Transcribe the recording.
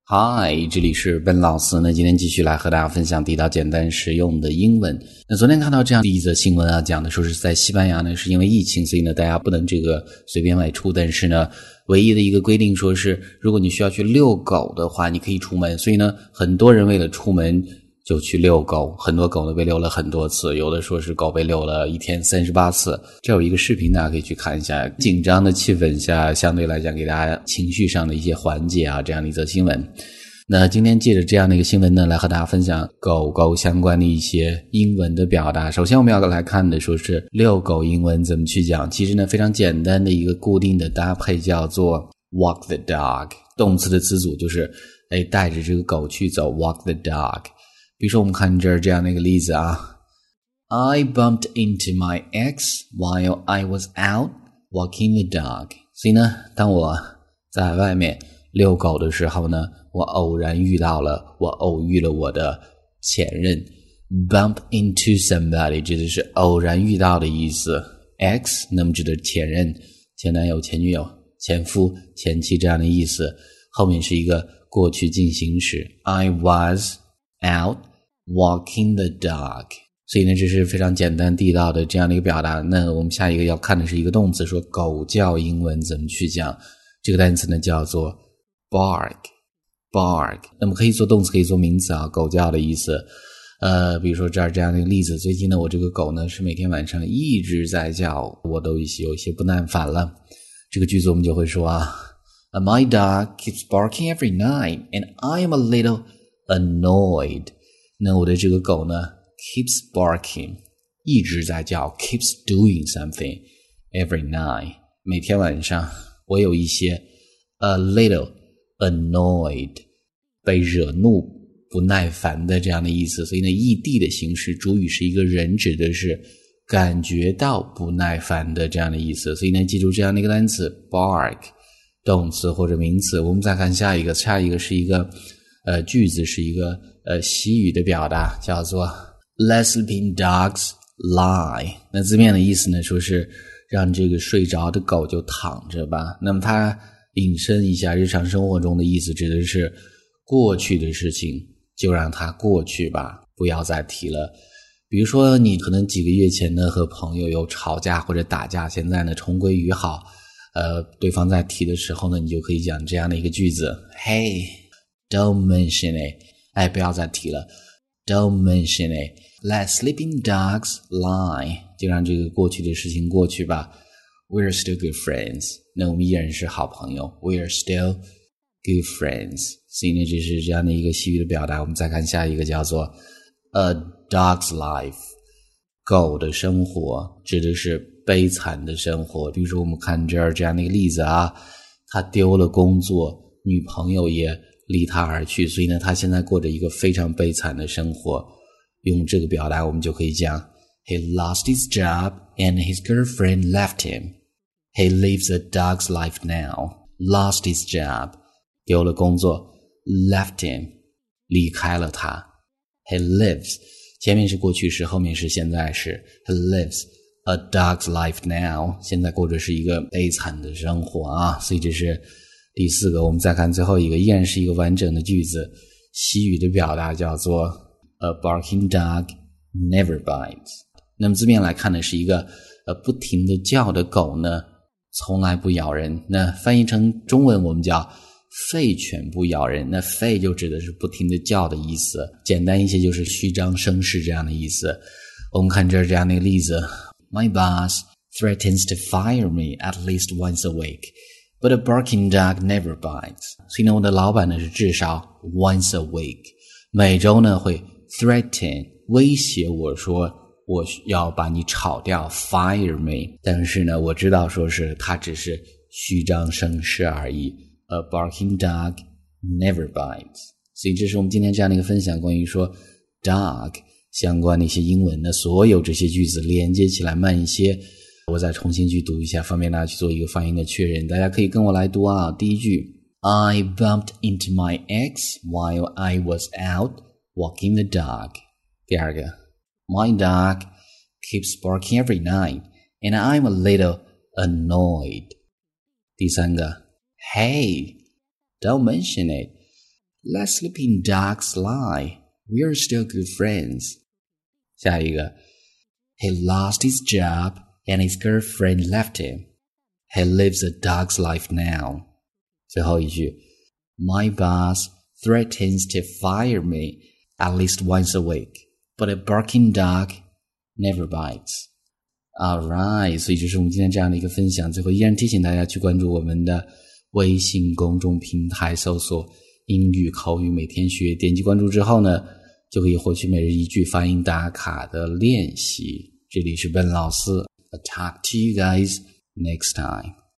嗨，这里是笨老师呢，今天继续来和大家分享地道简单实用的英文。那昨天看到这样的一则新闻啊，讲的说是在西班牙呢，是因为疫情，所以呢大家不能随便外出，但是呢唯一的一个规定说是如果你需要去遛狗的话，你可以出门，所以呢很多人为了出门就去遛狗，很多狗呢被遛了很多次，有的说是狗被遛了一天38次。这有一个视频大家可以去看一下，紧张的气氛下相对来讲给大家情绪上的一些缓解啊，这样的一则新闻。那今天借着这样的一个新闻呢，来和大家分享狗狗相关的一些英文的表达。首先我们要来看的说是遛狗英文怎么去讲，其实呢非常简单的一个固定的搭配叫做 walk the dog， 动词的词组就是带着这个狗去走 walk the dog。比如说我们看这儿这样的一个例子啊 I bumped into my ex while I was out walking the dog。 所以呢当我在外面遛狗的时候呢，我偶遇了我的前任。 bump into somebody 指的是偶然遇到的意思， ex 那么指的前任、前男友、前女友、前夫、前妻这样的意思，后面是一个过去进行时 I was out walking the dog。 所以呢这是非常简单地道的这样的一个表达。那我们下一个要看的是一个动词，说狗叫英文怎么去讲。这个单词呢叫做 bark。 那么可以做动词可以做名词啊，狗叫的意思。比如说这儿这样的一个例子，最近呢我这个狗呢是每天晚上一直在叫，我都有一些不耐烦了。这个句子我们就会说啊My dog keeps barking every night and I am a little annoyed。 那我的这个狗呢 keeps barking 一直在叫， keeps doing something every night 每天晚上，我有一些 a little annoyed 被惹怒不耐烦的这样的意思。所以呢异地的形式，主语是一个人，指的是感觉到不耐烦的这样的意思。所以呢记住这样的一个单词 bark 动词或者名词。我们再看下一个是一个句子，是一个习语的表达，叫做 Let sleeping dogs lie。 那字面的意思呢说是让这个睡着的狗就躺着吧。那么它引申一下日常生活中的意思，指的是过去的事情就让它过去吧，不要再提了。比如说你可能几个月前呢和朋友有吵架或者打架，现在呢重归于好，对方在提的时候呢，你就可以讲这样的一个句子 Hey don't mention it， 不要再提了 Don't mention it Let sleeping dogs lie， 就让这个过去的事情过去吧。 We're still good friends， 那我们依然是好朋友， We're still good friends。 所以呢这是这样的一个习语的表达。我们再看下一个叫做 A dog's life， 狗的生活指的是悲惨的生活。比如说我们看这儿这样的一个例子啊，他丢了工作，女朋友也离他而去，所以呢他现在过着一个非常悲惨的生活。用这个表达我们就可以讲 He lost his job and his girlfriend left him. He lives a dog's life now. Lost his job 丢了工作， left him 离开了他。 He lives 前面是过去时，后面是现在时。 He lives a dog's life now 现在过着是一个悲惨的生活啊。所以这是第四个。我们再看最后一个，依然是一个完整的句子，习语的表达叫做 A barking dog never bites。 那么字面来看呢，是一个不停地叫的狗呢从来不咬人。那翻译成中文我们叫吠犬不咬人，那吠就指的是不停地叫的意思，简单一些就是虚张声势这样的意思。我们看这儿这样的一个例子 My boss threatens to fire me at least once a week But a barking dog never bites。 所以呢我的老板呢是至少 once a week 每周呢会 threaten 威胁我说我要把你炒掉 fire me， 但是呢我知道说是他只是虚张声势而已。 A barking dog never bites。 所以这是我们今天这样的一个分享，关于说 dog 相关的一些英文的所有这些句子连接起来慢一些，我再重新去读一下，方便大家去做一个发音的确认。大家可以跟我来读啊。第一句 I bumped into my ex while I was out walking the dog。 第二个 My dog keeps barking every night and I'm a little annoyed。 第三个 Hey don't mention it Let sleeping dogs lie. We're still good friends. 下一个 He lost his job and his girlfriend left him. He lives a dog's life now. 最后一句 My boss threatens to fire me at least once a week, but a barking dog never bites. Alright, 所以这是我们今天这样的一个分享。最后依然提醒大家去关注我们的微信公众平台，搜索英语口语每天学，点击关注之后呢，就可以获取每日一句发音打卡的练习。这里是Ben老师，I'll talk to you guys next time.